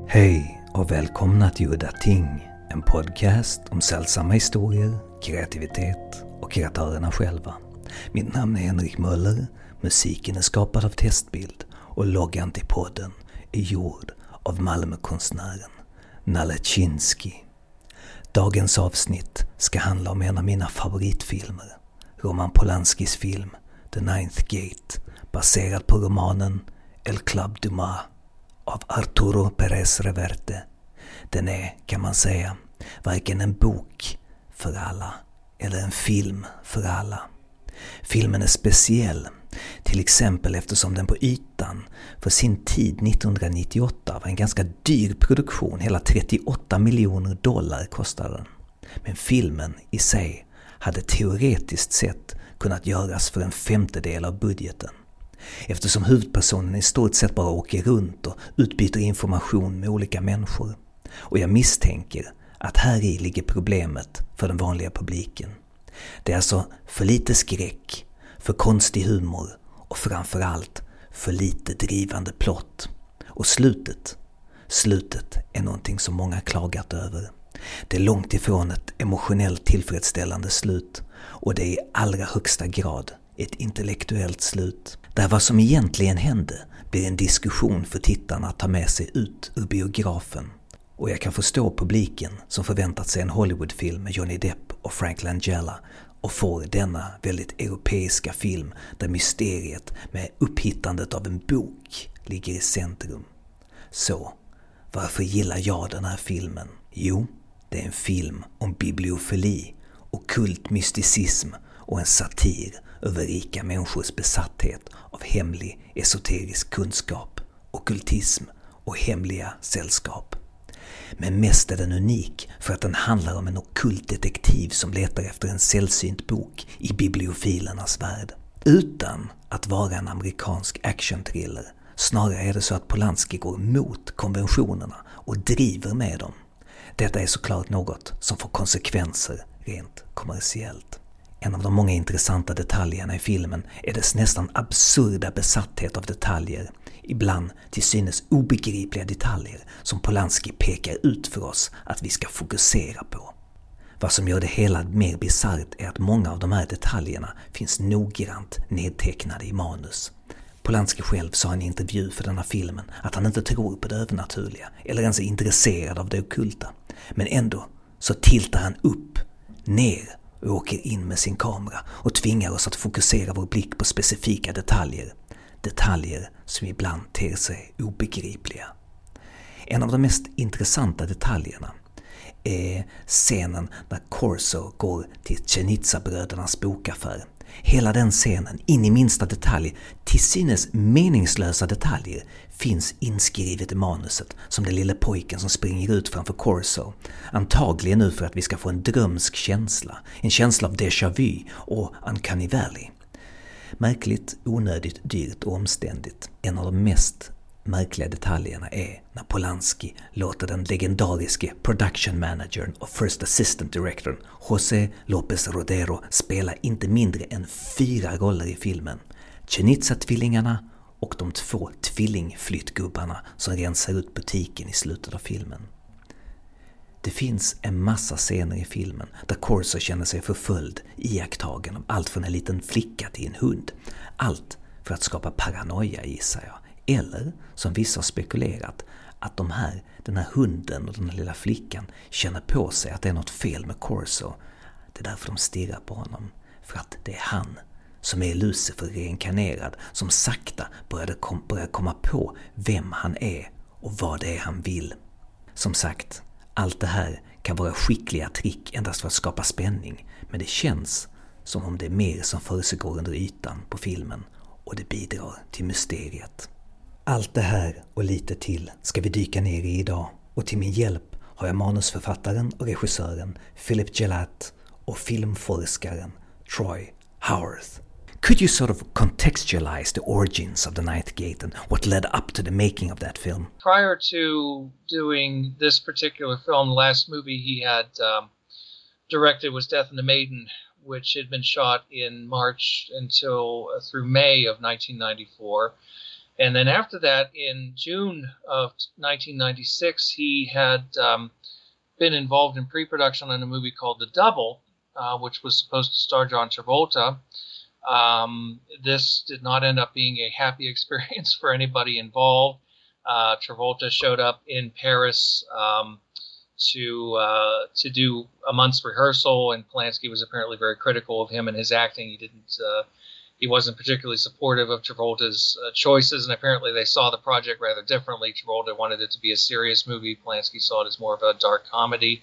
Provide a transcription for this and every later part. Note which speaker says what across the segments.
Speaker 1: Hej och välkomna till Udda Ting, en podcast om sällsamma historier, kreativitet och kreatörerna själva. Mitt namn är Henrik Möller, musiken är skapad av Testbild och loggan till podden är gjord av Malmökonstnären Nalle Chinsky. Dagens avsnitt ska handla om en av mina favoritfilmer, Roman Polanskis film The Ninth Gate, baserad på romanen El Club du Mas av Arturo Pérez Reverte. Den är, kan man säga, varken en bok för alla eller en film för alla. Filmen är speciell, till exempel eftersom den på ytan för sin tid 1998 var en ganska dyr produktion, hela $38 miljoner kostade den. Men filmen i sig hade teoretiskt sett kunnat göras för en femtedel av budgeten. Eftersom huvudpersonen i stort sett bara åker runt och utbyter information med olika människor. Och jag misstänker att här i ligger problemet för den vanliga publiken. Det är alltså för lite skräck, för konstig humor och framförallt för lite drivande plott. Och slutet är någonting som många klagat över. Det är långt ifrån ett emotionellt tillfredsställande slut och det är i allra högsta grad ett intellektuellt slut. Där vad som egentligen hände blir en diskussion för tittarna att ta med sig ut ur biografen. Och jag kan förstå publiken som förväntat sig en Hollywoodfilm med Johnny Depp och Frank Langella och får denna väldigt europeiska film där mysteriet med upphittandet av en bok ligger i centrum. Så, varför gillar jag den här filmen? Jo, det är en film om bibliofili, ockult mysticism och en satir över rika människors besatthet av hemlig esoterisk kunskap, ockultism och hemliga sällskap. Men mest är den unik för att den handlar om en ockult detektiv som letar efter en sällsynt bok i bibliofilernas värld. Utan att vara en amerikansk actionthriller, snarare är det så att Polanski går mot konventionerna och driver med dem. Detta är såklart något som får konsekvenser rent kommersiellt. En av de många intressanta detaljerna i filmen är dess nästan absurda besatthet av detaljer, ibland till synes obegripliga detaljer som Polanski pekar ut för oss att vi ska fokusera på. Vad som gör det hela mer bisarrt är att många av de här detaljerna finns noggrant nedtecknade i manus. Polanski själv sa i en intervju för denna filmen att han inte tror på det övernaturliga eller ens är intresserad av det ockulta. Men ändå så tiltar han upp, ner och åker in med sin kamera och tvingar oss att fokusera vår blick på specifika detaljer. Detaljer som ibland ter sig obegripliga. En av de mest intressanta detaljerna är scenen när Corso går till Cenizza-brödernas bokaffär. Hela den scenen, in i minsta detalj, till synes meningslösa detaljer, finns inskrivet i manuset som den lille pojken som springer ut framför Corso. Antagligen nu för att vi ska få en drömsk känsla, en känsla av déjà vu och uncanny valley. Märkligt, onödigt, dyrt och omständigt. En av de mest märkliga detaljerna är när Polanski låter den legendariske production managern och first assistant directorn José López Rodero spela inte mindre än 4 roller i filmen. Cenizza-tvillingarna och de 2 tvillingflyttgubbarna som rensar ut butiken i slutet av filmen. Det finns en massa scener i filmen där Corso känner sig förföljd, iakttagen av allt från en liten flicka till en hund. Allt för att skapa paranoia, gissar jag. Eller, som vissa har spekulerat, att den här hunden och den här lilla flickan känner på sig att det är något fel med Corso. Det är därför de stirrar på honom. För att det är han som är Lucifer reinkarnerad, som sakta börjar komma på vem han är och vad det är han vill. Som sagt, allt det här kan vara skickliga trick endast för att skapa spänning, men det känns som om det är mer som försiggår under ytan på filmen och det bidrar till mysteriet. Allt det här och lite till ska vi dyka ner i idag, och till min hjälp har jag manusförfattaren och regissören Philip Gelatt och filmforskaren Troy Howarth. Could you sort of contextualize the origins of The Ninth Gate and what led up to the making of that film?
Speaker 2: Prior to doing this particular film, the last movie he had directed was Death and the Maiden, which had been shot in March until through May of 1994. And then after that, in June of 1996, he had been involved in pre-production on a movie called The Double, which was supposed to star John Travolta. This did not end up being a happy experience for anybody involved. Travolta showed up in Paris to do a month's rehearsal, and Polanski was apparently very critical of him and his acting. He wasn't particularly supportive of Travolta's choices, and apparently they saw the project rather differently. Travolta wanted it to be a serious movie. Polanski saw it as more of a dark comedy.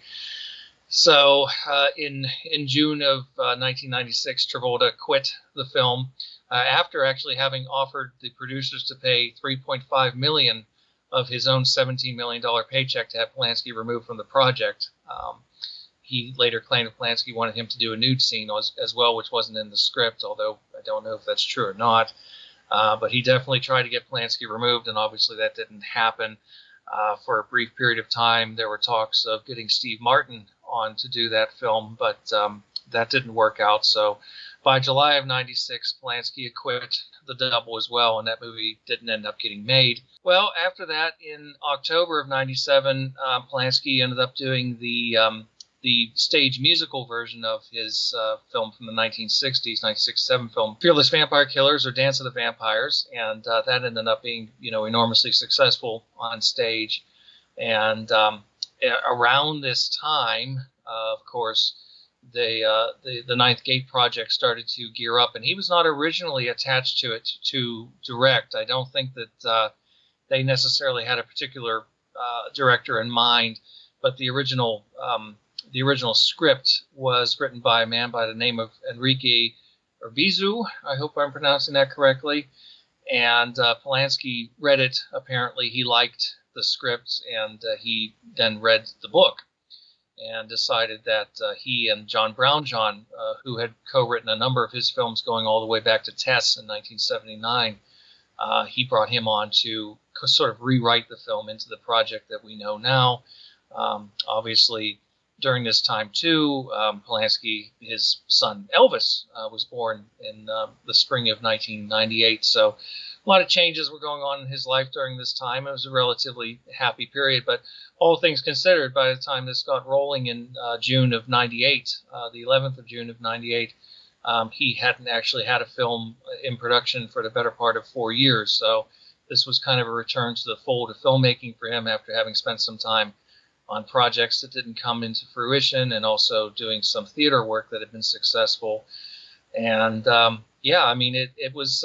Speaker 2: So in June of 1996, Travolta quit the film after actually having offered the producers to pay $3.5 million of his own $17 million paycheck to have Polanski removed from the project. He later claimed that Polanski wanted him to do a nude scene as well, which wasn't in the script, although I don't know if that's true or not. But he definitely tried to get Polanski removed, and obviously that didn't happen. For a brief period of time, there were talks of getting Steve Martin on to do that film, but that didn't work out. So by July of 96, Polanski had quit The Double as well, and that movie didn't end up getting made. Well, after that, in October of 97, Polanski ended up doing the stage musical version of his film from the 1960s, 1967 film, Fearless Vampire Killers or Dance of the Vampires, and that ended up being, enormously successful on stage. And around this time, of course, the Ninth Gate project started to gear up, and he was not originally attached to it to direct. I don't think that they necessarily had a particular director in mind, but the original script was written by a man by the name of Enrique Urbizu. I hope I'm pronouncing that correctly. And Polanski read it. Apparently, he liked the script, and he then read the book and decided that he and John Brownjohn, who had co-written a number of his films going all the way back to Tess in 1979, he brought him on to sort of rewrite the film into the project that we know now. Obviously, during this time, too, Polanski, his son Elvis, was born in the spring of 1998. So a lot of changes were going on in his life during this time. It was a relatively happy period. But all things considered, by the time this got rolling in June of 98, the 11th of June of 98, he hadn't actually had a film in production for the better part of 4 years. So this was kind of a return to the fold of filmmaking for him after having spent some time on projects that didn't come into fruition, and also doing some theater work that had been successful. And it was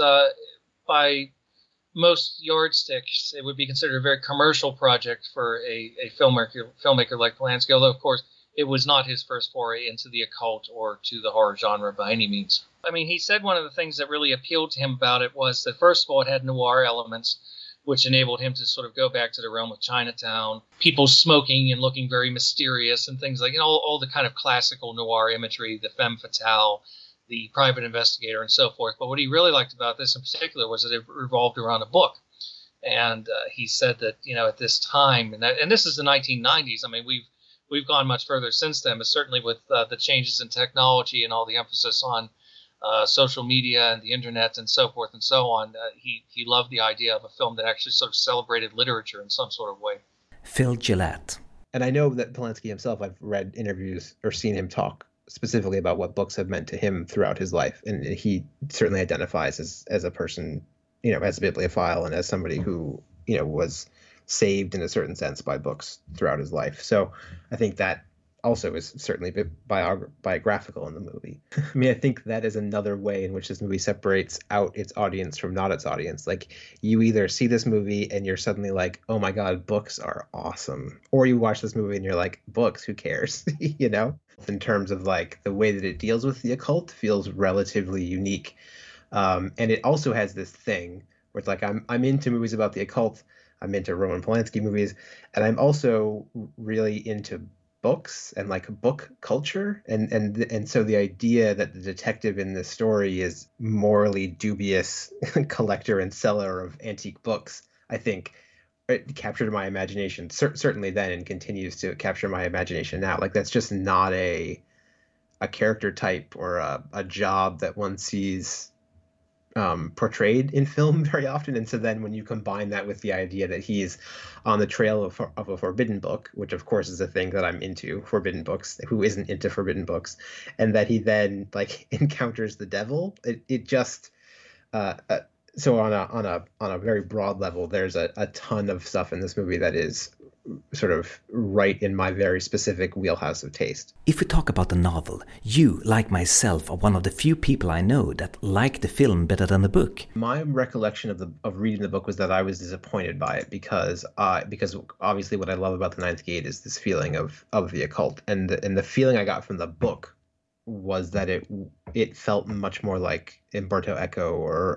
Speaker 2: by most yardsticks, it would be considered a very commercial project for a filmmaker like Polanski, although, of course, it was not his first foray into the occult or to the horror genre by any means. I mean, he said one of the things that really appealed to him about it was that, first of all, it had noir elements, which enabled him to sort of go back to the realm of Chinatown, people smoking and looking very mysterious and things like, all the kind of classical noir imagery, the femme fatale, the private investigator, and so forth. But what he really liked about this in particular was that it revolved around a book. And he said that, at this time, and this is the 1990s. I mean, we've gone much further since then, but certainly with the changes in technology and all the emphasis on social media and the internet and so forth and so on, he loved the idea of a film that actually sort of celebrated literature in some sort of way.
Speaker 1: Phil Gillette.
Speaker 3: And I know that Polanski himself, I've read interviews or seen him talk specifically about what books have meant to him throughout his life. And he certainly identifies as a person, as a bibliophile and as somebody who, was saved in a certain sense by books throughout his life. So I think that also is certainly biographical in the movie. I mean, I think that is another way in which this movie separates out its audience from not its audience. Like, you either see this movie and you're suddenly like, oh my God, books are awesome. Or you watch this movie and you're like, books, who cares? In terms of like the way that it deals with the occult feels relatively unique. And it also has this thing where it's like, I'm into movies about the occult. I'm into Roman Polanski movies. And I'm also really into books and like book culture, and so the idea that the detective in this story is morally dubious collector and seller of antique books, I think it captured my imagination certainly then, and continues to capture my imagination now. Like, that's just not a character type or a job that one sees portrayed in film very often. And so then when you combine that with the idea that he's on the trail of a forbidden book, which of course is a thing that I'm into, forbidden books, who isn't into forbidden books, and that he then like encounters the devil, it just so on a very broad level, there's a ton of stuff in this movie that is sort of right in my very specific wheelhouse of taste.
Speaker 1: If we talk about the novel, you, like myself, are one of the few people I know that like the film better than the book.
Speaker 3: My recollection of reading the book was that I was disappointed by it because obviously what I love about The Ninth Gate is this feeling of the occult, and the feeling I got from the book was that it felt much more like Umberto Eco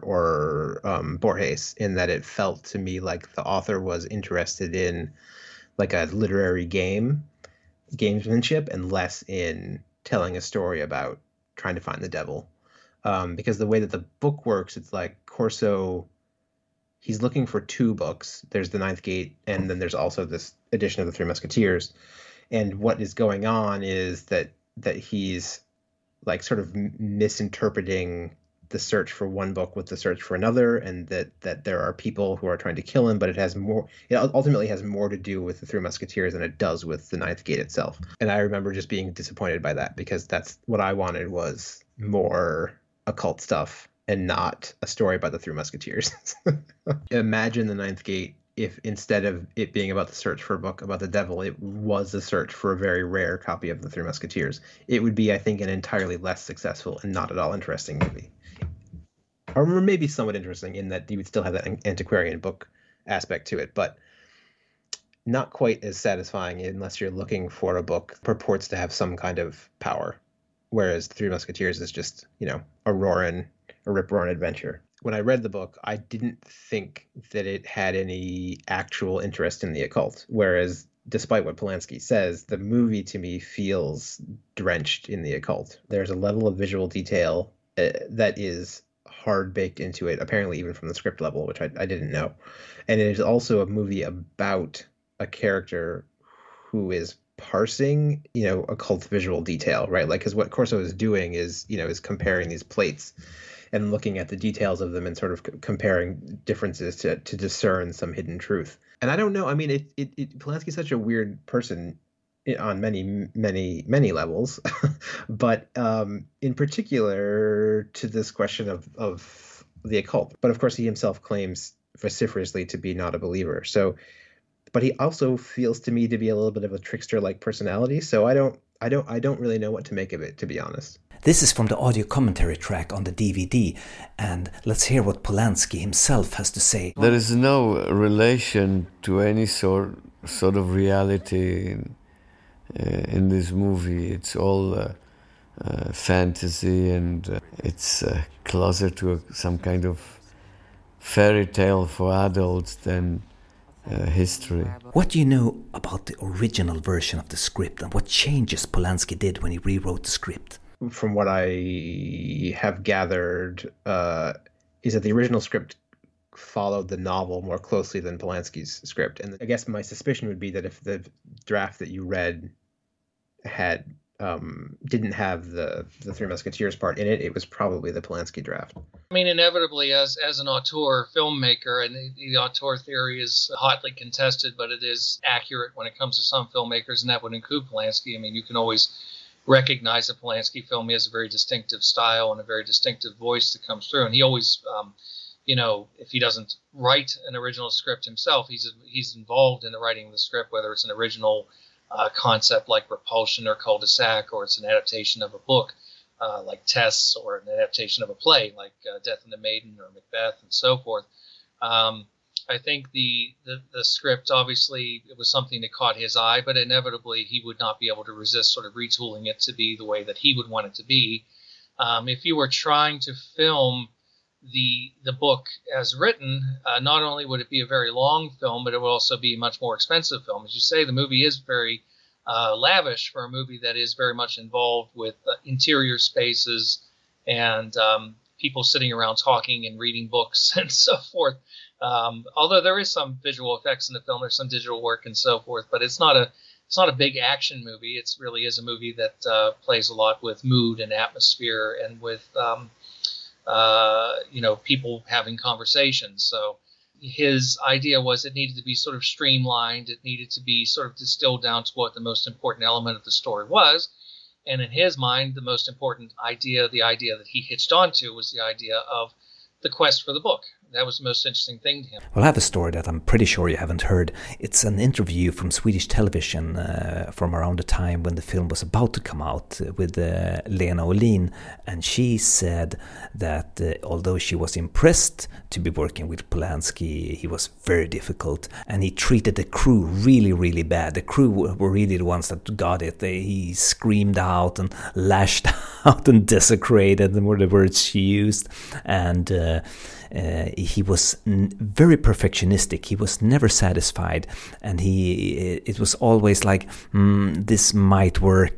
Speaker 3: or Borges, in that it felt to me like the author was interested in like a literary gamesmanship, and less in telling a story about trying to find the devil. Because the way that the book works, it's like Corso, he's looking for two books. There's The Ninth Gate, and then there's also this edition of the Three Musketeers. And what is going on is that he's like sort of misinterpreting the search for one book with the search for another, and that there are people who are trying to kill him, but it ultimately has more to do with the Three Musketeers than it does with the Ninth Gate itself. And I remember just being disappointed by that, because that's what I wanted, was more occult stuff and not a story about the Three Musketeers. Imagine the Ninth Gate if instead of it being about the search for a book about the devil, it was a search for a very rare copy of the Three Musketeers. It would be, I think, an entirely less successful and not at all interesting movie. Or maybe somewhat interesting in that you would still have that antiquarian book aspect to it, but not quite as satisfying unless you're looking for a book that purports to have some kind of power. Whereas The Three Musketeers is just, a rip-roaring adventure. When I read the book, I didn't think that it had any actual interest in the occult. Whereas, despite what Polanski says, the movie to me feels drenched in the occult. There's a level of visual detail that is hard baked into it, apparently even from the script level, which I didn't know. And it is also a movie about a character who is parsing, occult visual detail, right? Like, because what Corso is doing is comparing these plates and looking at the details of them and sort of comparing differences to discern some hidden truth. And I don't know. I mean, Polanski's such a weird person on many levels, but in particular to this question of the occult. But of course, he himself claims vociferously to be not a believer. So, but he also feels to me to be a little bit of a trickster-like personality. So I don't really know what to make of it, to be honest.
Speaker 1: This is from the audio commentary track on the DVD, and let's hear what Polanski himself has to say.
Speaker 4: There is no relation to any sort of reality in this movie. It's all fantasy, and it's closer to some kind of fairy tale for adults than history.
Speaker 1: What do you know about the original version of the script, and what changes Polanski did when he rewrote the script?
Speaker 3: From what I have gathered, is that the original script followed the novel more closely than Polanski's script. And I guess my suspicion would be that if the draft that you read didn't have the Three Musketeers part in it, it was probably the Polanski draft.
Speaker 2: I mean, inevitably, as an auteur filmmaker, and the auteur theory is hotly contested, but it is accurate when it comes to some filmmakers, and that would include Polanski. I mean, you can always recognize a Polanski film. He has a very distinctive style and a very distinctive voice that comes through. And he always, if he doesn't write an original script himself, he's involved in the writing of the script, whether it's an original concept like Repulsion or Cul-de-sac, or it's an adaptation of a book like Tess, or an adaptation of a play like Death and the Maiden or Macbeth and so forth. I think the script, obviously, it was something that caught his eye, but inevitably he would not be able to resist sort of retooling it to be the way that he would want it to be. If you were trying to film the book as written, not only would it be a very long film, but it would also be a much more expensive film. As you say, the movie is very lavish for a movie that is very much involved with interior spaces and people sitting around talking and reading books and so forth. Although there is some visual effects in the film, there's some digital work and so forth, but it's not a big action movie. It really is a movie that plays a lot with mood and atmosphere and with people having conversations. So his idea was it needed to be sort of streamlined. It needed to be sort of distilled down to what the most important element of the story was. And in his mind, the most important idea, the idea that he hitched onto, was the idea of the quest for the book. That was the most interesting thing to him.
Speaker 1: Well, I have a story that I'm pretty sure you haven't heard. It's an interview from Swedish television from around the time when the film was about to come out with Lena Olin. And she said that although she was impressed to be working with Polanski, he was very difficult. And he treated the crew really, really bad. The crew were really the ones that got it. He screamed out and lashed out and desecrated, were the words she used. And he was very perfectionistic. He was never satisfied, and it was always like, this might work.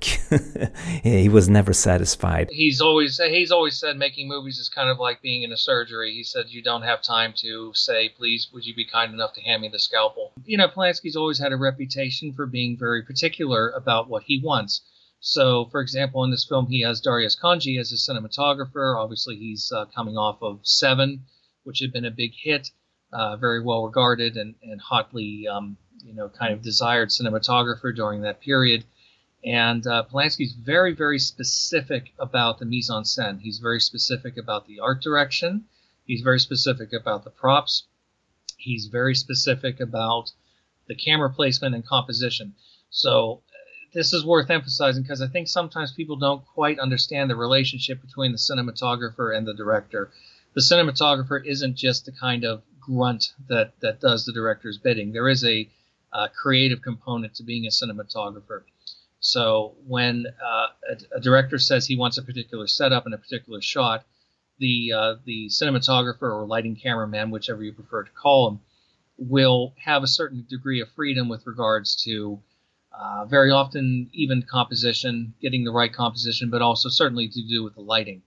Speaker 1: He was never satisfied.
Speaker 2: He's always said making movies is kind of like being in a surgery. He said you don't have time to say, please, would you be kind enough to hand me the scalpel? Polanski's always had a reputation for being very particular about what he wants. So, for example, in this film, he has Darius Khondji as his cinematographer. Obviously, he's coming off of Seven, which had been a big hit, very well regarded and hotly, kind of desired cinematographer during that period. And Polanski's very, very specific about the mise-en-scène. He's very specific about the art direction. He's very specific about the props. He's very specific about the camera placement and composition. So this is worth emphasizing because I think sometimes people don't quite understand the relationship between the cinematographer and the director. The cinematographer isn't just the kind of grunt that does the director's bidding. There is a creative component to being a cinematographer. So when a director says he wants a particular setup and a particular shot, the cinematographer or lighting cameraman, whichever you prefer to call him, will have a certain degree of freedom with regards to very often even composition, getting the right composition, but also certainly to do with the lighting.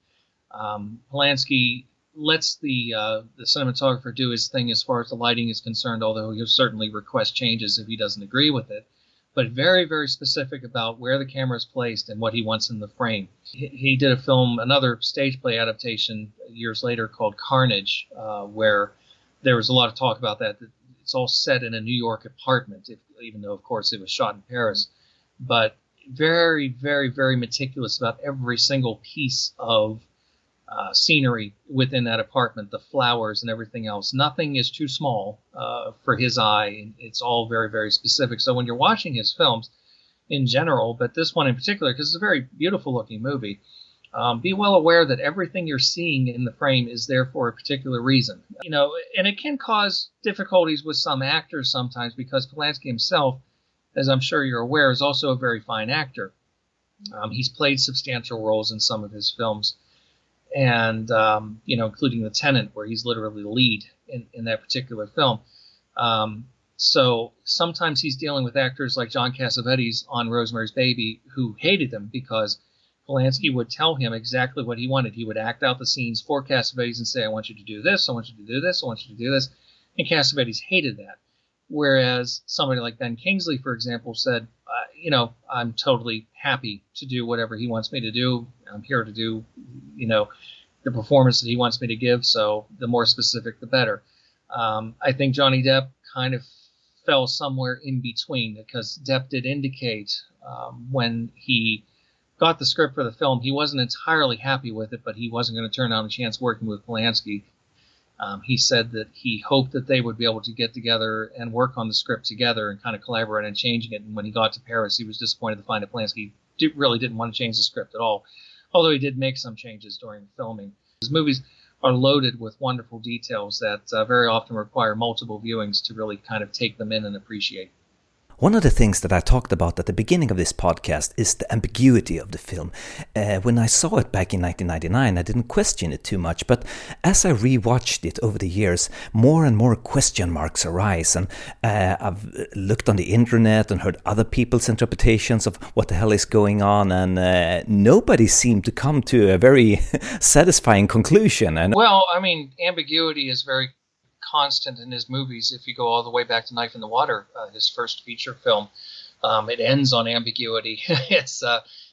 Speaker 2: Polanski lets the cinematographer do his thing as far as the lighting is concerned, although he'll certainly request changes if he doesn't agree with it, but very, very specific about where the camera is placed and what he wants in the frame. He did a film, another stage play adaptation years later called Carnage, where there was a lot of talk about that. It's all set in a New York apartment, even though, of course, it was shot in Paris. But very, very, very meticulous about every single piece of scenery within that apartment, the flowers and everything else. Nothing is too small for his eye. It's all very, very specific. So when you're watching his films in general, but this one in particular, because it's a very beautiful looking movie, be well aware that everything you're seeing in the frame is there for a particular reason. And it can cause difficulties with some actors sometimes because Polanski himself, as I'm sure you're aware, is also a very fine actor. He's played substantial roles in some of his films. And, including The Tenant, where he's literally the lead in that particular film. So sometimes he's dealing with actors like John Cassavetes on Rosemary's Baby who hated him because Polanski would tell him exactly what he wanted. He would act out the scenes for Cassavetes and say, I want you to do this, I want you to do this, I want you to do this. And Cassavetes hated that. Whereas somebody like Ben Kingsley, for example, said, I'm totally happy to do whatever he wants me to do. I'm here to do, the performance that he wants me to give. So the more specific, the better. I think Johnny Depp kind of fell somewhere in between because Depp did indicate when he got the script for the film, he wasn't entirely happy with it, but he wasn't going to turn down a chance working with Polanski. He said that he hoped that they would be able to get together and work on the script together and kind of collaborate on changing it. And when he got to Paris, he was disappointed to find that Polanski really didn't want to change the script at all, although he did make some changes during filming. His movies are loaded with wonderful details that very often require multiple viewings to really kind of take them in and appreciate.
Speaker 1: One of the things that I talked about at the beginning of this podcast is the ambiguity of the film. When I saw it back in 1999, I didn't question it too much, but as I rewatched it over the years, more and more question marks arise, and I've looked on the internet and heard other people's interpretations of what the hell is going on, and nobody seemed to come to a very satisfying conclusion. And
Speaker 2: well, I mean, ambiguity is very constant in his movies. If you go all the way back to Knife in the Water, his first feature film, it ends on ambiguity. It's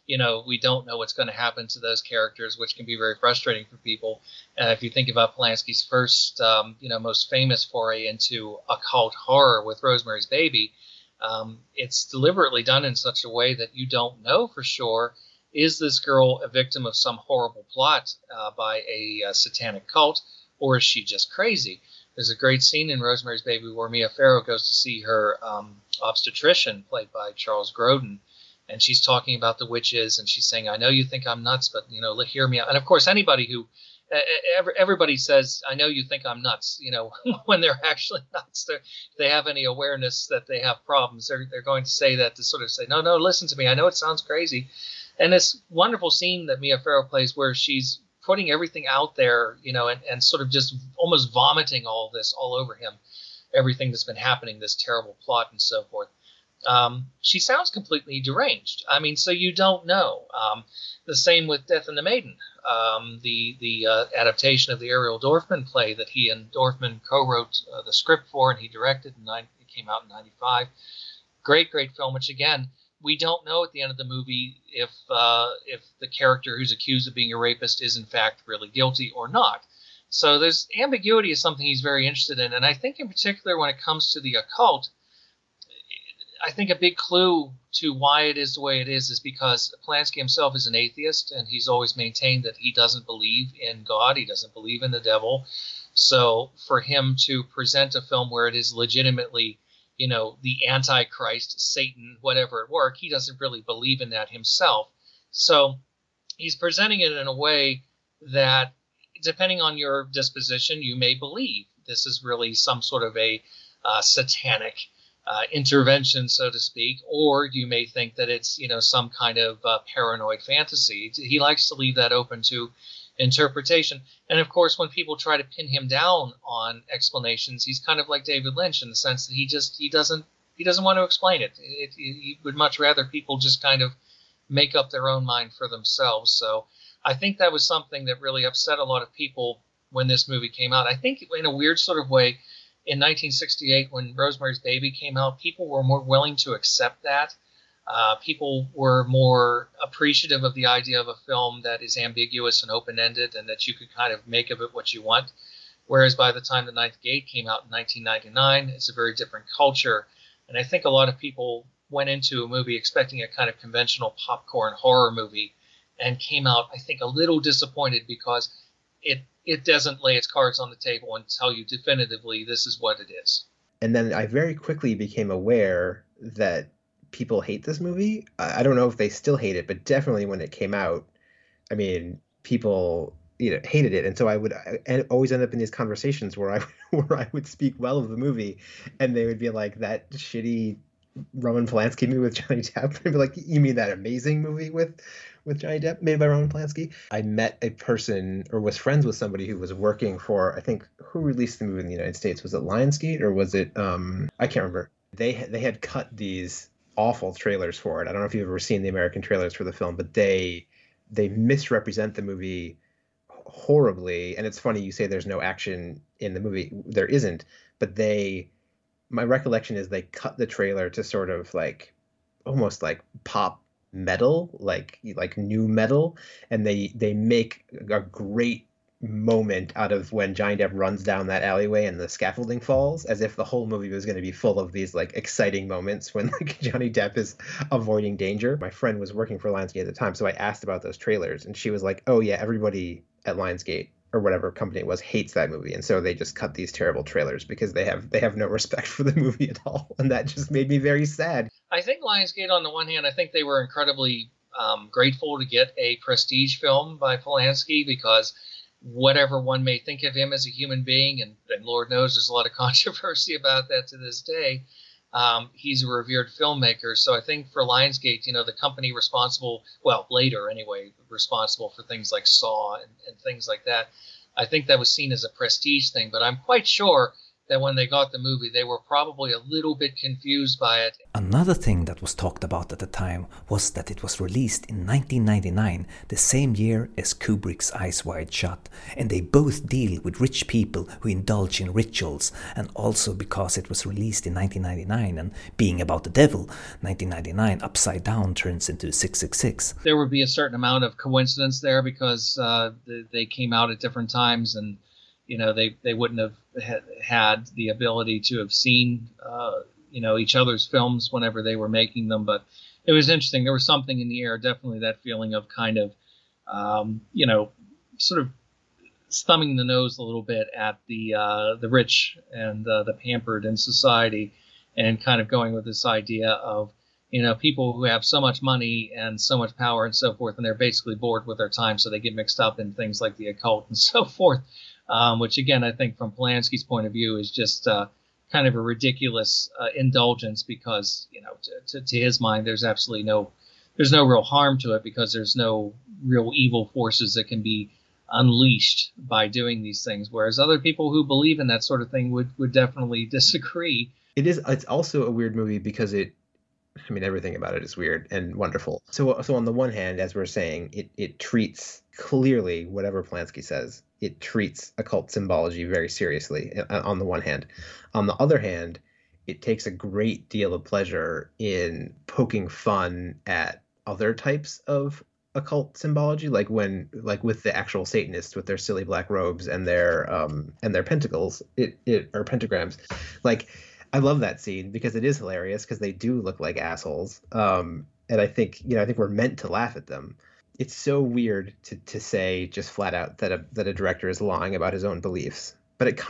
Speaker 2: we don't know what's going to happen to those characters, which can be very frustrating for people. If you think about Polanski's first, most famous foray into occult horror with Rosemary's Baby, it's deliberately done in such a way that you don't know for sure, is this girl a victim of some horrible plot by a satanic cult, or is she just crazy? There's a great scene in Rosemary's Baby where Mia Farrow goes to see her obstetrician, played by Charles Grodin, and she's talking about the witches, and she's saying, I know you think I'm nuts, but, hear me out. And, of course, everybody says, I know you think I'm nuts, when they're actually nuts. If they have any awareness that they have problems, they're going to say that to sort of say, no, listen to me. I know it sounds crazy. And this wonderful scene that Mia Farrow plays where she's putting everything out there, and sort of just almost vomiting all this all over him, everything that's been happening, this terrible plot and so forth. She sounds completely deranged. I mean, so you don't know. The same with Death and the Maiden, the adaptation of the Ariel Dorfman play that he and Dorfman co-wrote the script for, and he directed. It came out in '95. Great film. Which again, we don't know at the end of the movie if the character who's accused of being a rapist is in fact really guilty or not. So there's ambiguity is something he's very interested in, and I think in particular when it comes to the occult, I think a big clue to why it is the way it is because Polanski himself is an atheist, and he's always maintained that he doesn't believe in God, he doesn't believe in the devil. So for him to present a film where it is legitimately, the Antichrist, Satan, whatever at work, he doesn't really believe in that himself. So he's presenting it in a way that, depending on your disposition, you may believe this is really some sort of a satanic intervention, so to speak, or you may think that it's, some kind of paranoid fantasy. He likes to leave that open to interpretation. And of course, when people try to pin him down on explanations, he's kind of like David Lynch in the sense that he doesn't want to explain it. He would much rather people just kind of make up their own mind for themselves. So I think that was something that really upset a lot of people when this movie came out. I think in a weird sort of way, in 1968, when Rosemary's Baby came out, people were more willing to accept that. People were more appreciative of the idea of a film that is ambiguous and open-ended and that you could kind of make of it what you want. Whereas by the time The Ninth Gate came out in 1999, it's a very different culture. And I think a lot of people went into a movie expecting a kind of conventional popcorn horror movie and came out, I think, a little disappointed because it doesn't lay its cards on the table and tell you definitively this is what it is.
Speaker 3: And then I very quickly became aware that people hate this movie. I don't know if they still hate it, but definitely when it came out, I mean, people hated it. And so I would always end up in these conversations where I would speak well of the movie, and they would be like, that shitty Roman Polanski movie with Johnny Depp. I'd be like, you mean that amazing movie with Johnny Depp made by Roman Polanski? I met a person, or was friends with somebody who was working for, I think, who released the movie in the United States? Was it Lionsgate or was it I can't remember. They had cut these awful trailers for it. I don't know if you've ever seen the American trailers for the film, but they misrepresent the movie horribly. And it's funny you say there's no action in the movie. There isn't, but my recollection is they cut the trailer to sort of like almost like pop metal, like new metal, and they make a great moment out of when Johnny Depp runs down that alleyway and the scaffolding falls, as if the whole movie was going to be full of these like exciting moments when like Johnny Depp is avoiding danger. My friend was working for Lionsgate at the time, so I asked about those trailers, and she was like, oh yeah, everybody at Lionsgate or whatever company it was hates that movie, and so they just cut these terrible trailers because they have no respect for the movie at all, and that just made me very sad.
Speaker 2: I think Lionsgate, on the one hand, I think they were incredibly grateful to get a prestige film by Polanski, because whatever one may think of him as a human being, and Lord knows there's a lot of controversy about that to this day, he's a revered filmmaker. So I think for Lionsgate, the company responsible, well, later anyway, responsible for things like Saw and things like that, I think that was seen as a prestige thing. But I'm quite sure that when they got the movie, they were probably a little bit confused by it.
Speaker 1: Another thing that was talked about at the time was that it was released in 1999, the same year as Kubrick's Eyes Wide Shut, and they both deal with rich people who indulge in rituals, and also because it was released in 1999 and being about the devil, 1999 upside down turns into 666.
Speaker 2: There would be a certain amount of coincidence there because they came out at different times, and they wouldn't have had the ability to have seen each other's films whenever they were making them. But it was interesting. There was something in the air, definitely that feeling of kind of sort of thumbing the nose a little bit at the rich and the pampered in society, and kind of going with this idea of people who have so much money and so much power and so forth, and they're basically bored with their time, so they get mixed up in things like the occult and so forth. Which, again, I think from Polanski's point of view is just kind of a ridiculous indulgence because, to his mind, there's no real harm to it because there's no real evil forces that can be unleashed by doing these things. Whereas other people who believe in that sort of thing would definitely disagree.
Speaker 3: It's also a weird movie because everything about it is weird and wonderful. So on the one hand, as we're saying, it treats clearly whatever Polanski says. It treats occult symbology very seriously on the one hand. On the other hand, it takes a great deal of pleasure in poking fun at other types of occult symbology, like with the actual Satanists with their silly black robes and their pentacles, or pentagrams. Like, I love that scene because it is hilarious because they do look like assholes. And I think we're meant to laugh at them. It's so weird to say just flat out that a director is lying about his own beliefs, but it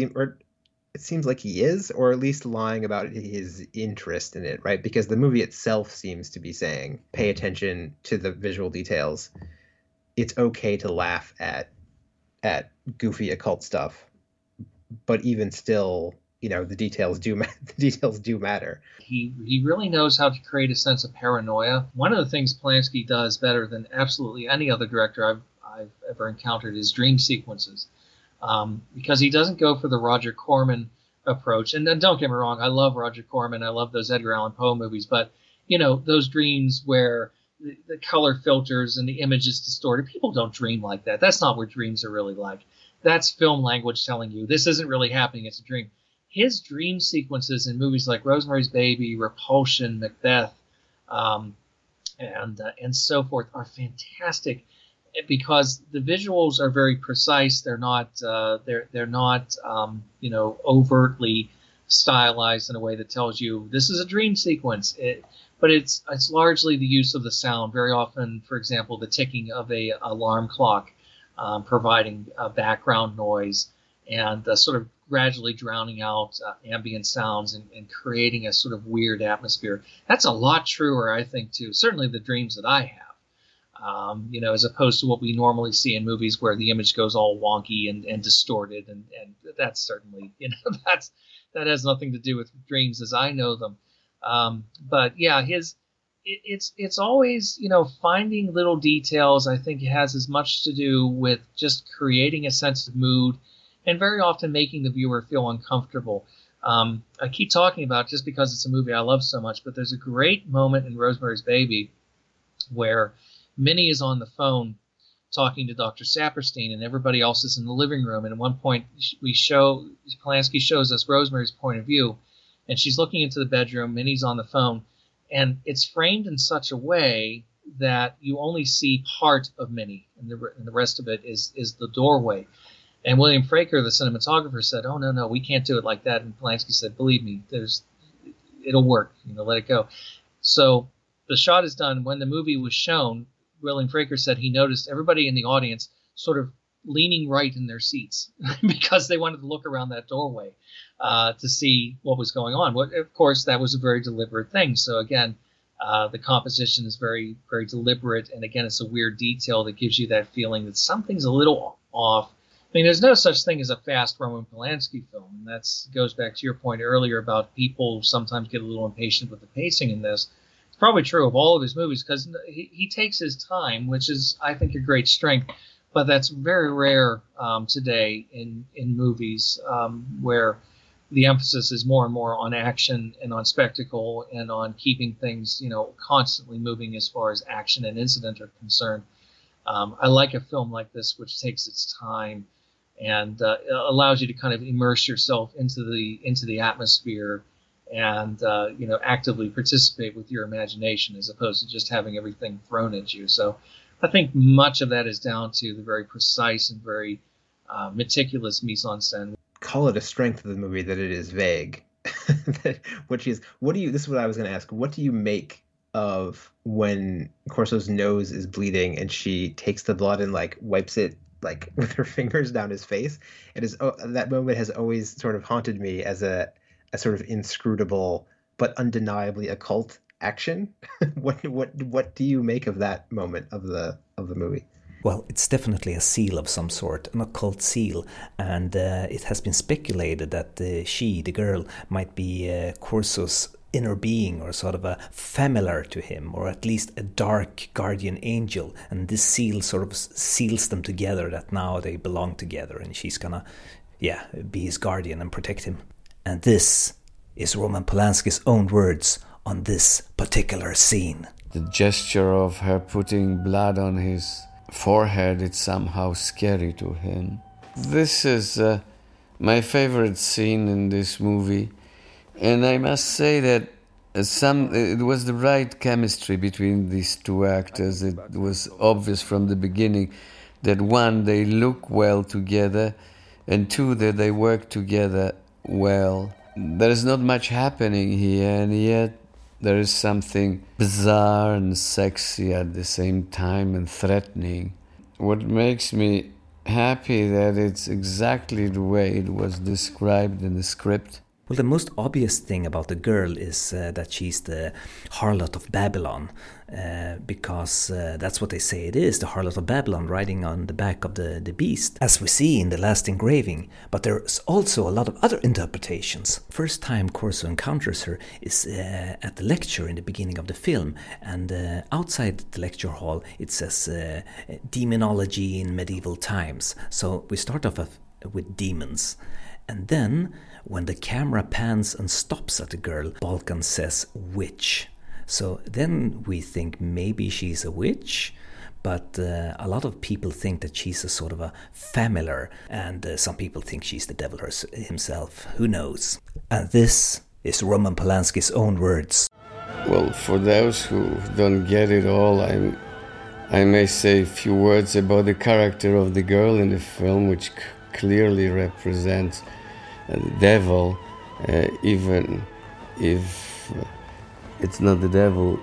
Speaker 3: seems like he is, or at least lying about his interest in it, right? Because the movie itself seems to be saying, pay attention to the visual details. It's okay to laugh at goofy occult stuff, but even still, the details do matter.
Speaker 2: He really knows how to create a sense of paranoia. One of the things Polanski does better than absolutely any other director I've ever encountered is dream sequences, because he doesn't go for the Roger Corman approach. And then don't get me wrong, I love Roger Corman, I love those Edgar Allan Poe movies, but those dreams where the color filters and the image is distorted, people don't dream like that. That's not what dreams are really like. That's film language telling you this isn't really happening, it's a dream. His dream sequences in movies like Rosemary's Baby, Repulsion, Macbeth, and so forth are fantastic because the visuals are very precise. They're not overtly stylized in a way that tells you this is a dream sequence. But it's largely the use of the sound. Very often, for example, the ticking of a alarm clock, providing background noise and sort of gradually drowning out ambient sounds and creating a sort of weird atmosphere. That's a lot truer, I think, to certainly the dreams that I have, as opposed to what we normally see in movies where the image goes all wonky and distorted. And that's certainly, that has nothing to do with dreams as I know them. But yeah, it's always, finding little details. I think it has as much to do with just creating a sense of mood and very often making the viewer feel uncomfortable. I keep talking about it just because it's a movie I love so much, but there's a great moment in Rosemary's Baby where Minnie is on the phone talking to Dr. Saperstein and everybody else is in the living room. And at one point Polanski shows us Rosemary's point of view, and she's looking into the bedroom, Minnie's on the phone, and it's framed in such a way that you only see part of Minnie, and the rest of it is the doorway. And William Fraker, the cinematographer, said, "Oh, no, we can't do it like that." And Polanski said, "Believe me, it'll work. Let it go." So the shot is done. When the movie was shown, William Fraker said he noticed everybody in the audience sort of leaning right in their seats because they wanted to look around that doorway to see what was going on. Well, of course, that was a very deliberate thing. So again, the composition is very, very deliberate. And again, it's a weird detail that gives you that feeling that something's a little off. I mean, there's no such thing as a fast Roman Polanski film. And that goes back to your point earlier about people sometimes get a little impatient with the pacing in this. It's probably true of all of his movies because he takes his time, which is, I think, a great strength. But that's very rare today in movies where the emphasis is more and more on action and on spectacle and on keeping things, constantly moving as far as action and incident are concerned. I like a film like this, which takes its time and allows you to kind of immerse yourself into the atmosphere and actively participate with your imagination, as opposed to just having everything thrown at you. So I think much of that is down to the very precise and very meticulous mise-en-scène.
Speaker 3: Call it a strength of the movie that it is vague. This is what I was going to ask. What do you make of when Corso's nose is bleeding and she takes the blood and wipes it with her fingers down his face? That moment has always sort of haunted me as a sort of inscrutable but undeniably occult action. What do you make of that moment of the movie?
Speaker 1: Well, it's definitely a seal of some sort, an occult seal, and it has been speculated that she, the girl, might be Corso's inner being, or sort of a familiar to him, or at least a dark guardian angel, and this seal sort of seals them together, that now they belong together, and she's gonna be his guardian and protect him. And this is Roman Polanski's own words on this particular scene.
Speaker 4: The gesture of her putting blood on his forehead, it's somehow scary to him. This is my favorite scene in this movie, and I must say that it was the right chemistry between these two actors. It was obvious from the beginning that one, they look well together, and two, that they work together well. There is not much happening here, and yet there is something bizarre and sexy at the same time, and threatening. What makes me happy that it's exactly the way it was described in the script.
Speaker 1: Well, the most obvious thing about the girl is that she's the harlot of Babylon, because that's what they say it is, the harlot of Babylon riding on the back of the beast, as we see in the last engraving. But there's also a lot of other interpretations. First time Corso encounters her is at the lecture in the beginning of the film, and outside the lecture hall it says demonology in medieval times. So we start off with demons. And then, when the camera pans and stops at the girl, Balkan says witch. So then we think maybe she's a witch, but a lot of people think that she's a sort of a familiar, and some people think she's the devil himself. Who knows? And this is Roman Polanski's own words.
Speaker 4: Well, for those who don't get it all, I may say a few words about the character of the girl in the film, which clearly represents the devil, even if it's not the devil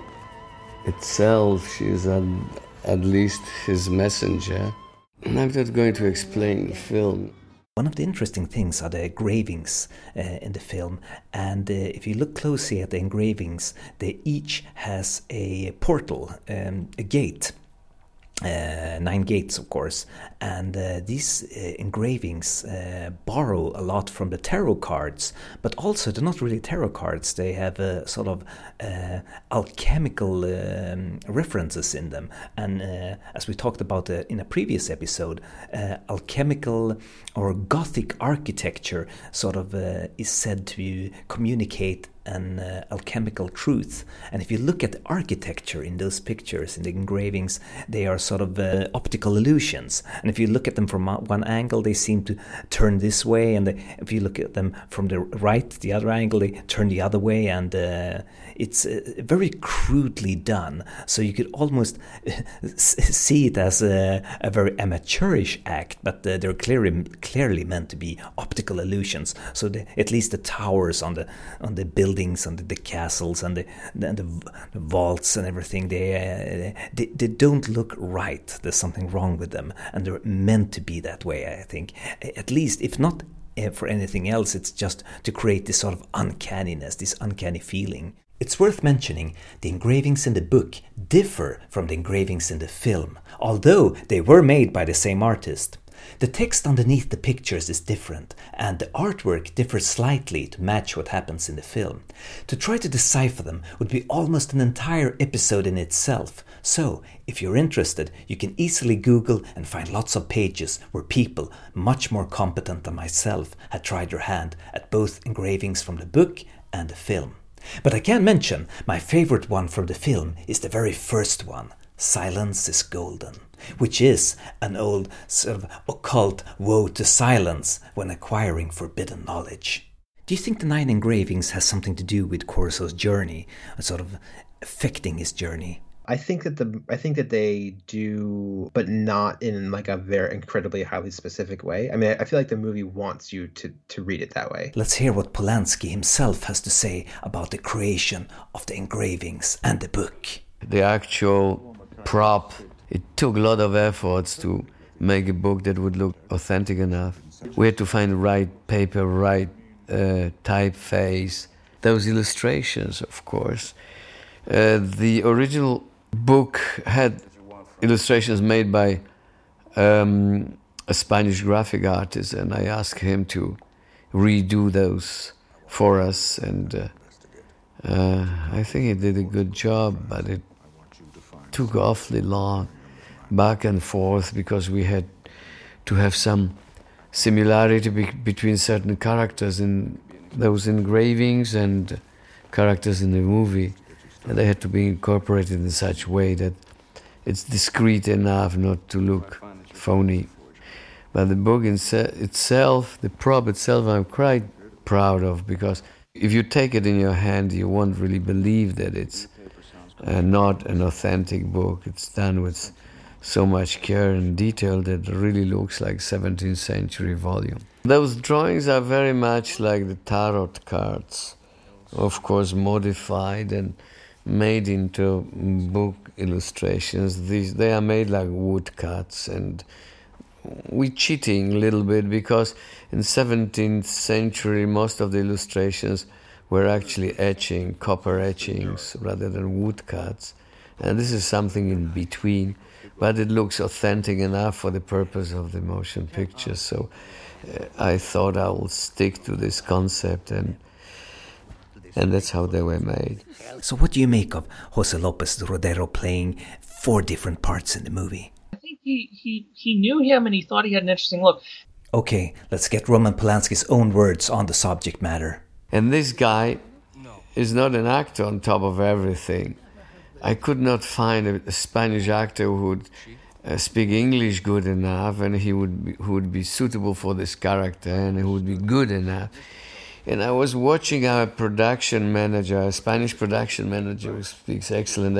Speaker 4: itself. She is at least his messenger. I'm not going to explain the film.
Speaker 1: One of the interesting things are the engravings in the film, and if you look closely at the engravings, they each has a portal, a gate. 9 gates, of course, and these engravings borrow a lot from the tarot cards, but also they're not really tarot cards. They have a sort of alchemical references in them, and as we talked about in a previous episode, alchemical or Gothic architecture sort of is said to communicate an alchemical truth. And if you look at the architecture in those pictures, in the engravings, they are sort of optical illusions. And if you look at them from one angle, they seem to turn this way, and if you look at them from the right, the other angle, they turn the other way, and it's very crudely done. So you could almost see it as a very amateurish act, but they're clearly meant to be optical illusions. So at least the towers on the buildings and the castles and the vaults and everything, they don't look right. There's something wrong with them, and they're meant to be that way, I think. At least, if not for anything else, it's just to create this sort of uncanniness, this uncanny feeling. It's worth mentioning the engravings in the book differ from the engravings in the film, although they were made by the same artist. The text underneath the pictures is different, and the artwork differs slightly to match what happens in the film. To try to decipher them would be almost an entire episode in itself, so if you're interested, you can easily Google and find lots of pages where people, much more competent than myself, had tried their hand at both engravings from the book and the film. But I can mention my favorite one from the film is the very first one, Silence is Golden, which is an old sort of occult woe to silence when acquiring forbidden knowledge. Do you think the 9 engravings has something to do with Corso's journey, sort of affecting his journey?
Speaker 3: I think that they do, but not in like a very incredibly highly specific way. I mean, I feel like the movie wants you to read it that way.
Speaker 1: Let's hear what Polanski himself has to say about the creation of the engravings and the book.
Speaker 4: The actual prop, it took a lot of efforts to make a book that would look authentic enough. We had to find the right paper, right typeface, those illustrations, of course. The original book had illustrations made by a Spanish graphic artist, and I asked him to redo those for us, and I think he did a good job, but it took awfully long, back and forth, because we had to have some similarity between certain characters in those engravings and characters in the movie. And they had to be incorporated in such a way that it's discreet enough not to look phony. But the book itself, the prop itself, I'm quite proud of, because if you take it in your hand, you won't really believe that it's not an authentic book. It's done with so much care and detail that it really looks like 17th century volume. Those drawings are very much like the tarot cards, of course modified and made into book illustrations. They are made like woodcuts, and we're cheating a little bit, because in 17th century most of the illustrations were actually etching, copper etchings rather than woodcuts, and this is something in between, but it looks authentic enough for the purpose of the motion picture. So I thought I will stick to this concept, and that's how they were made.
Speaker 1: So what do you make of Jose Lopez Rodero playing 4 different parts in the movie?
Speaker 2: I think he knew him and he thought he had an interesting look.
Speaker 1: Okay, let's get Roman Polanski's own words on the subject matter.
Speaker 4: And this guy is not an actor on top of everything. I could not find a Spanish actor who would speak English good enough, and who would be suitable for this character, and who would be good enough. And I was watching our production manager, a Spanish production manager who speaks excellent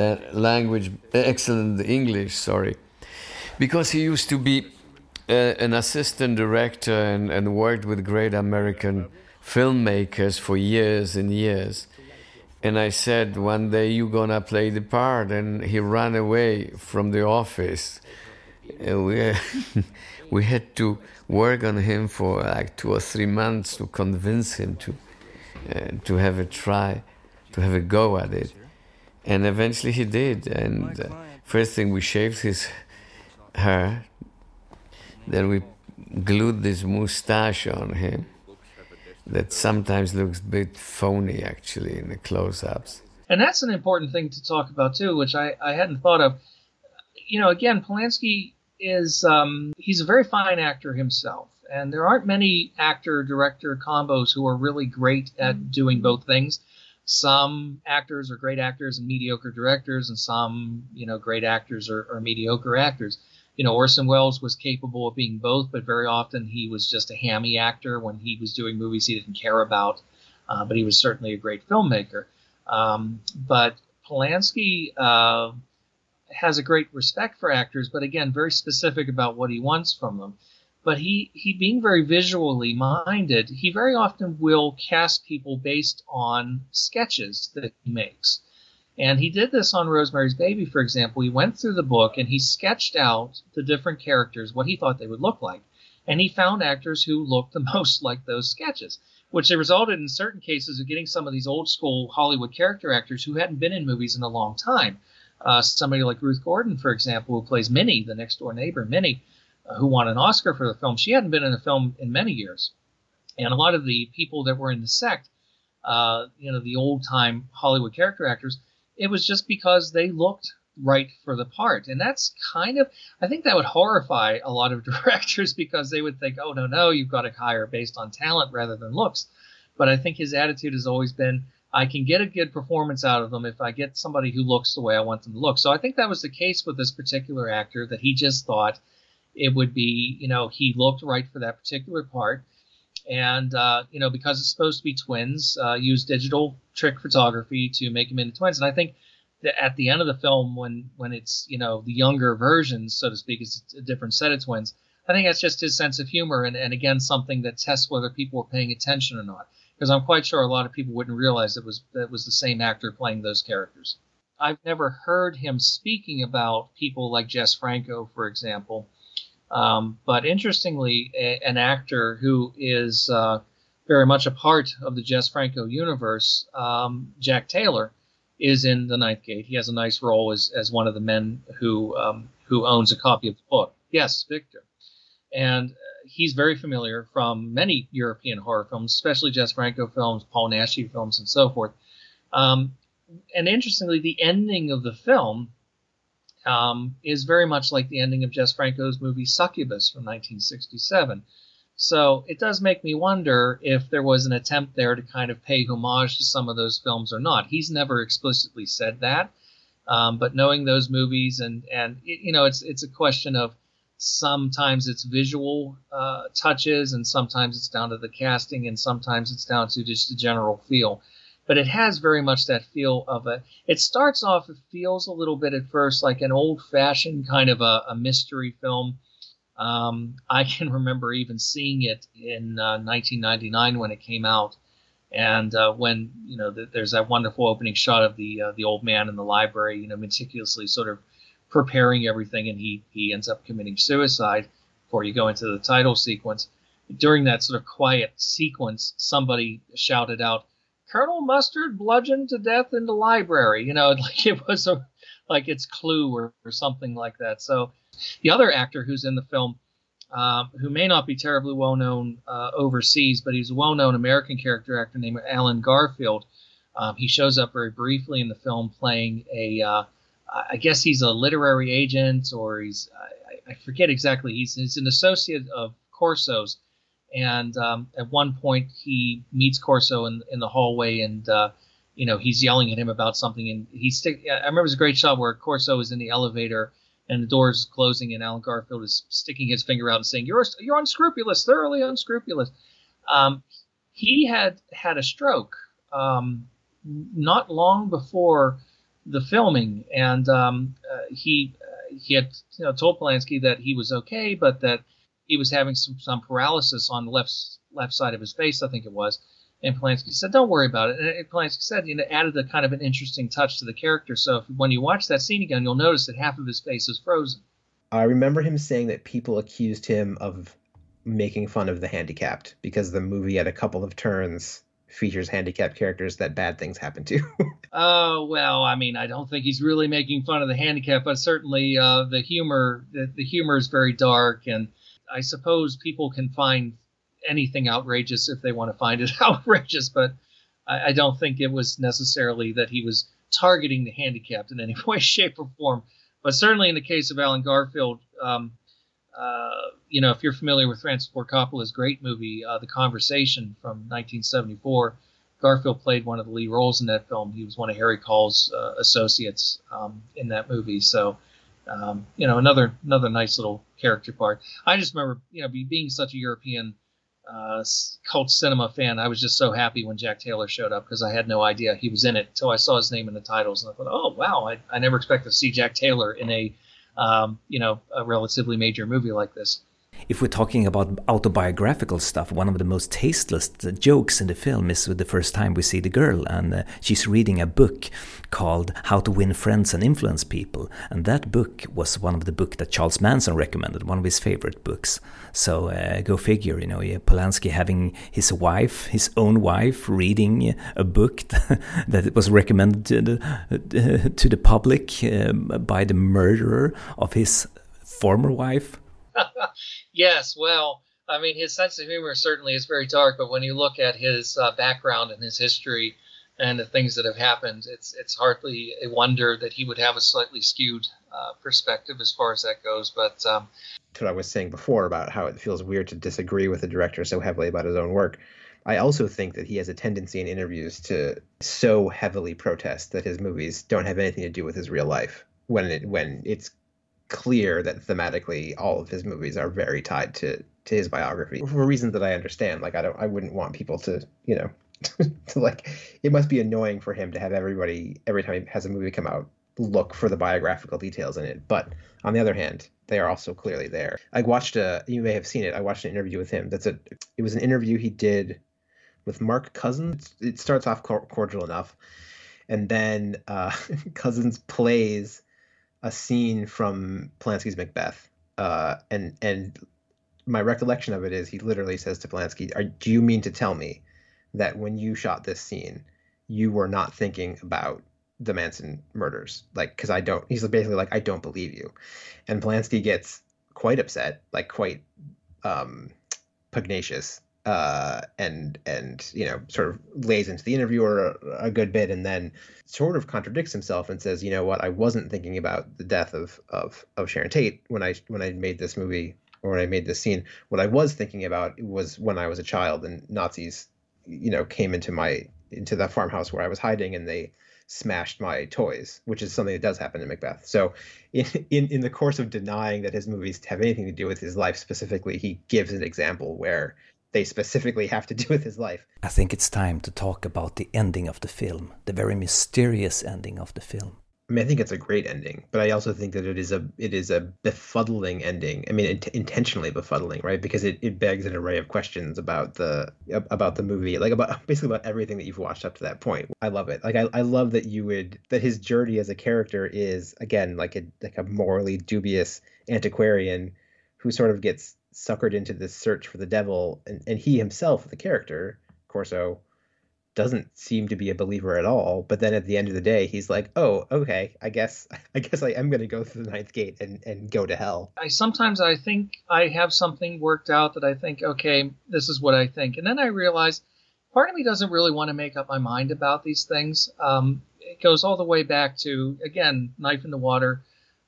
Speaker 4: English, because he used to be an assistant director and worked with great American filmmakers for years and years. And I said, one day you're gonna play the part, and he ran away from the office. And we had to work on him for like 2 or 3 months to convince him to have a try, to have a go at it. And eventually he did. And first thing, we shaved his hair. Then we glued this mustache on him that sometimes looks a bit phony, actually, in the close-ups.
Speaker 2: And that's an important thing to talk about, too, which I hadn't thought of. You know, again, Polanski is he's a very fine actor himself, and there aren't many actor-director combos who are really great at doing both things. Some actors are great actors and mediocre directors, and some, great actors are mediocre actors. Orson Welles was capable of being both, but very often he was just a hammy actor when he was doing movies he didn't care about, but he was certainly a great filmmaker. But Polanski has a great respect for actors, but again, very specific about what he wants from them. But he being very visually minded, he very often will cast people based on sketches that he makes. And he did this on Rosemary's Baby, for example. He went through the book and he sketched out the different characters, what he thought they would look like. And he found actors who looked the most like those sketches, which resulted in certain cases of getting some of these old school Hollywood character actors who hadn't been in movies in a long time. Somebody like Ruth Gordon, for example, who plays Minnie, the next door neighbor, Minnie. who won an Oscar for the film, she hadn't been in a film in many years. And a lot of the people that were in the sect, the old-time Hollywood character actors, it was just because they looked right for the part. And that's kind of, I think that would horrify a lot of directors, because they would think, oh, no, you've got to hire based on talent rather than looks. But I think his attitude has always been, I can get a good performance out of them if I get somebody who looks the way I want them to look. So I think that was the case with this particular actor, that he just thought it would be, he looked right for that particular part. And, because it's supposed to be twins, use digital trick photography to make them into twins. And I think that at the end of the film, when it's, the younger versions, so to speak, it's a different set of twins, I think that's just his sense of humor. And again, something that tests whether people were paying attention or not. Because I'm quite sure a lot of people wouldn't realize that was the same actor playing those characters. I've never heard him speaking about people like Jess Franco, for example. But interestingly, an actor who is very much a part of the Jess Franco universe, Jack Taylor, is in The Ninth Gate. He has a nice role as one of the men who owns a copy of the book. Yes, Victor. And he's very familiar from many European horror films, especially Jess Franco films, Paul Naschy films, and so forth. And interestingly, the ending of the film is very much like the ending of Jess Franco's movie Succubus from 1967. So it does make me wonder if there was an attempt there to kind of pay homage to some of those films or not. He's never explicitly said that, but knowing those movies and it's a question of sometimes it's visual touches, and sometimes it's down to the casting, and sometimes it's down to just the general feel. But it has very much that feel of it starts off, it feels a little bit at first like an old-fashioned kind of a mystery film. I can remember even seeing it in 1999 when it came out. And when, there's that wonderful opening shot of the old man in the library, meticulously sort of preparing everything, and he ends up committing suicide before you go into the title sequence. During that sort of quiet sequence, somebody shouted out, "Colonel Mustard bludgeoned to death in the library," like it was like it's Clue or something like that. So the other actor who's in the film, who may not be terribly well known overseas, but he's a well-known American character actor named Alan Garfield. He shows up very briefly in the film playing I guess he's a literary agent, or I forget exactly. He's an associate of Corso's. And at one point, he meets Corso in the hallway, and he's yelling at him about something. And I remember it was a great shot where Corso is in the elevator, and the door is closing, and Alan Garfield is sticking his finger out and saying, "You're unscrupulous, thoroughly unscrupulous." He had a stroke not long before the filming, and he had told Polanski that he was okay, but that he was having some paralysis on the left side of his face, I think it was. And Polanski said, "Don't worry about it." And Polanski said, added a kind of an interesting touch to the character. So when you watch that scene again, you'll notice that half of his face is frozen.
Speaker 3: I remember him saying that people accused him of making fun of the handicapped because the movie at a couple of turns features handicapped characters that bad things happen to.
Speaker 2: Oh, well, I mean, I don't think he's really making fun of the handicap, but certainly the humor is very dark, and I suppose people can find anything outrageous if they want to find it outrageous, but I don't think it was necessarily that he was targeting the handicapped in any way, shape, or form. But certainly in the case of Alan Garfield, if you're familiar with Francis Ford Coppola's great movie, The Conversation from 1974, Garfield played one of the lead roles in that film. He was one of Harry Call's associates in that movie. So, another nice little character part. I just remember, being such a European cult cinema fan, I was just so happy when Jack Taylor showed up because I had no idea he was in it until I saw his name in the titles, and I thought, oh wow, I never expected to see Jack Taylor in a relatively major movie like this.
Speaker 1: If we're talking about autobiographical stuff, one of the most tasteless jokes in the film is the first time we see the girl, and she's reading a book called How to Win Friends and Influence People, and that book was one of the books that Charles Manson recommended, one of his favorite books. So go figure, Polanski having his own wife, reading a book that was recommended to the public by the murderer of his former wife.
Speaker 2: Yes, well, I mean, his sense of humor certainly is very dark, but when you look at his background and his history and the things that have happened, it's hardly a wonder that he would have a slightly skewed perspective as far as that goes. But
Speaker 3: what I was saying before about how it feels weird to disagree with a director so heavily about his own work, I also think that he has a tendency in interviews to so heavily protest that his movies don't have anything to do with his real life, when it's clear that thematically all of his movies are very tied to his biography for reasons that I understand. Like I wouldn't want people to, you know, to like, it must be annoying for him to have everybody every time he has a movie come out look for the biographical details in it. But on the other hand, they are also clearly there. I watched you may have seen it. I watched an interview with him. It was an interview he did with Mark Cousins. It starts off cordial enough, and then Cousins plays a scene from Polanski's Macbeth, and my recollection of it is he literally says to Polanski, "Do you mean to tell me that when you shot this scene, you were not thinking about the Manson murders? Like, because I don't." He's basically like, "I don't believe you," and Polanski gets quite upset, like quite pugnacious, and you know, sort of lays into the interviewer a good bit, and then sort of contradicts himself and says, "You know what? I wasn't thinking about the death of Sharon Tate when I made this movie, or when I made this scene. What I was thinking about was when I was a child and Nazis, you know, came into the farmhouse where I was hiding, and they smashed my toys," which is something that does happen in Macbeth. So in the course of denying that his movies have anything to do with his life specifically, he gives an example where they specifically have to do with his life.
Speaker 1: I think it's time to talk about the ending of the film, the very mysterious ending of the film.
Speaker 3: I mean, I think it's a great ending, but I also think that it is a befuddling ending. I mean, intentionally befuddling, right? Because it begs an array of questions about the movie, like basically about everything that you've watched up to that point. I love it. Like I love that that his journey as a character is, again, like a morally dubious antiquarian who sort of gets suckered into this search for the devil, and he himself, the character Corso, doesn't seem to be a believer at all. But then at the end of the day, he's like, "Oh, okay, I guess I am going to go through the ninth gate and go to hell."
Speaker 2: Sometimes I think I have something worked out that I think, okay, this is what I think. And then I realize part of me doesn't really want to make up my mind about these things. It goes all the way back to, again, Knife in the Water.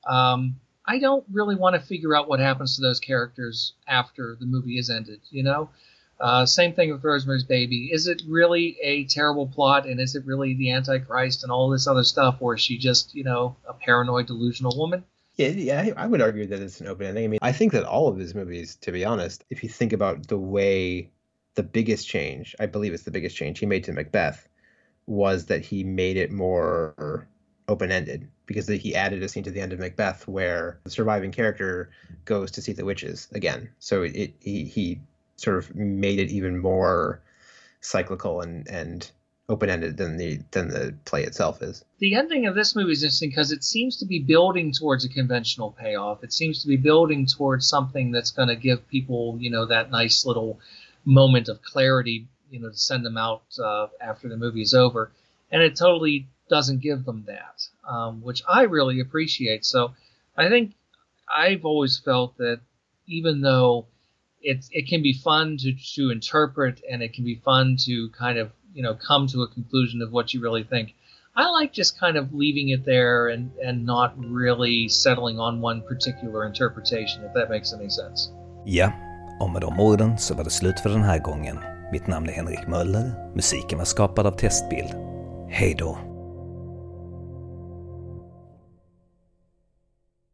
Speaker 2: I don't really want to figure out what happens to those characters after the movie is ended, you know? Same thing with Rosemary's Baby. Is it really a terrible plot, and is it really the Antichrist and all this other stuff, or is she just, you know, a paranoid, delusional woman?
Speaker 3: Yeah, I would argue that it's an open ending. I mean, I think that all of his movies, to be honest, if you think about the way, the biggest change, I believe it's the biggest change he made to Macbeth, was that he made it more open-ended, because he added a scene to the end of Macbeth where the surviving character goes to see the witches again. So he sort of made it even more cyclical and open-ended than the play itself is.
Speaker 2: The ending of this movie is interesting because it seems to be building towards a conventional payoff. It seems to be building towards something that's going to give people, you know, that nice little moment of clarity, you know, to send them out after the movie is over. And it totally doesn't give them that, which I really appreciate. So I think I've always felt that even though it can be fun to interpret, and it can be fun to kind of, you know, come to a conclusion of what you really think, I like just kind of leaving it there and not really settling on one particular interpretation, if that makes any sense.
Speaker 1: Ja, och med de orden så var det slut för den här gången. Mitt namn är Henrik Möller, musiken var skapad av Testbild. Hej då!